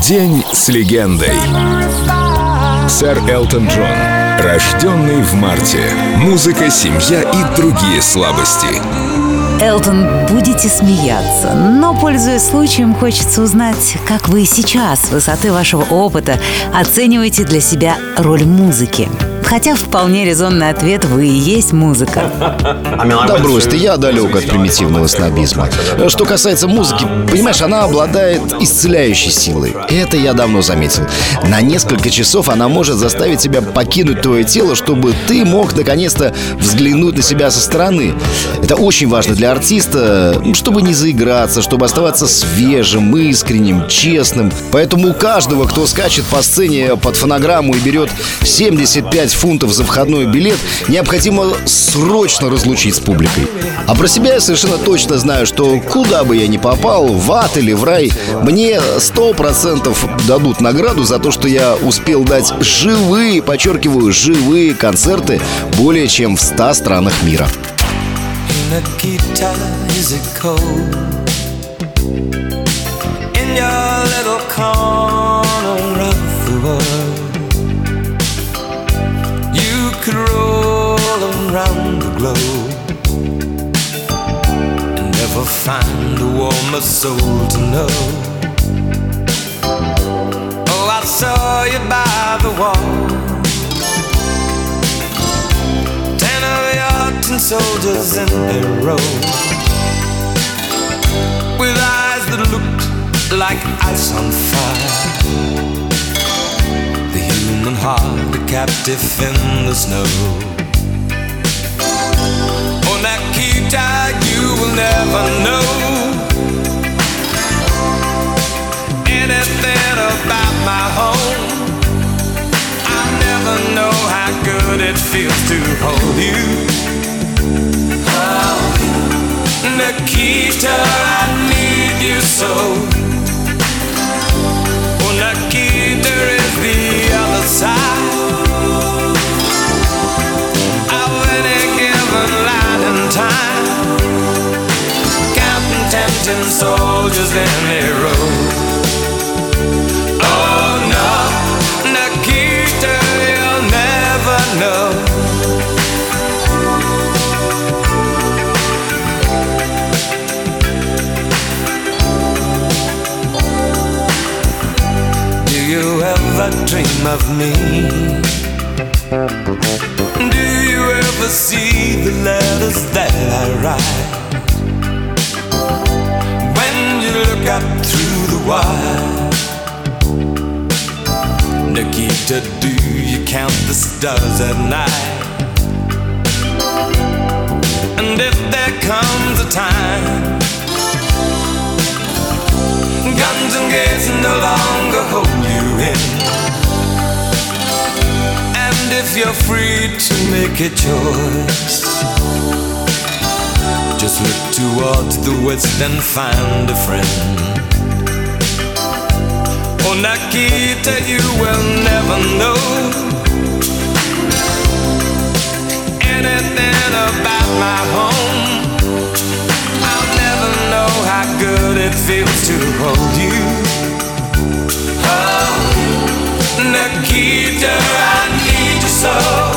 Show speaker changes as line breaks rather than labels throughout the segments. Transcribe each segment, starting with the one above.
День с легендой. Сэр Элтон Джон. Рожденный в марте. Музыка, семья и другие слабости.
Элтон, будете смеяться, но, пользуясь случаем, хочется узнать, как вы сейчас, с высоты вашего опыта, оцениваете для себя роль музыки. Хотя вполне резонный ответ: вы и есть музыка.
Да брось ты, я далек от примитивного снобизма. Что касается музыки, понимаешь, она обладает исцеляющей силой. Это я давно заметил. На несколько часов она может заставить тебя покинуть твое тело, чтобы ты мог наконец-то взглянуть на себя со стороны. Это очень важно для артиста, чтобы не заиграться, чтобы оставаться свежим, искренним, честным. Поэтому у каждого, кто скачет по сцене под фонограмму и берет 75 фунтов за входной билет, необходимо срочно разлучить с публикой. А про себя я совершенно точно знаю, что куда бы я ни попал, в ад или в рай, мне 100% дадут награду за то, что я успел дать живые, подчеркиваю, живые концерты более чем в 100 странах мира.
Could roll around the globe and never find a warmer soul to know. Oh, I saw you by the wall, 10 of your tin soldiers in a row, with eyes that looked like ice on fire. Human heart, a captive in the snow. Oh, Nikita, you will never know anything about my home. I never know how good it feels to hold you. Oh, Nikita, I need you so. Oh, Nikita is the other side of any given line and time, counting tempting soldiers in a row. Oh no, Nikita, you'll never know. Do you ever dream of me? Do you ever see the letters that I write? When you look up through the wire, Nikita, do you count the stars at night? And if there comes a time guns and gates no longer hold you in, and if you're free to make a choice, just look towards the west and find a friend. Oh, Nikita, you will never know anything about my home. I'll never know how good it feels to hold you. Oh, Nikita, I need you so.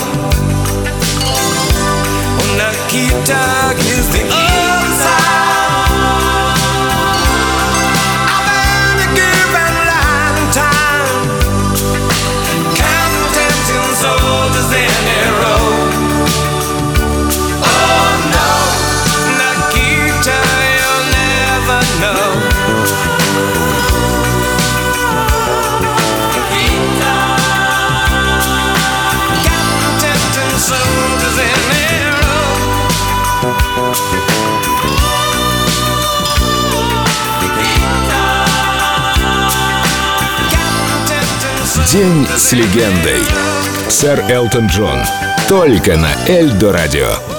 Oh, Nikita is the other side of any given line and time, counting tempting soldiers in a row. Oh no, Nikita, you'll never know.
День с легендой. Сэр Элтон Джон. Только на Эльдо Радио.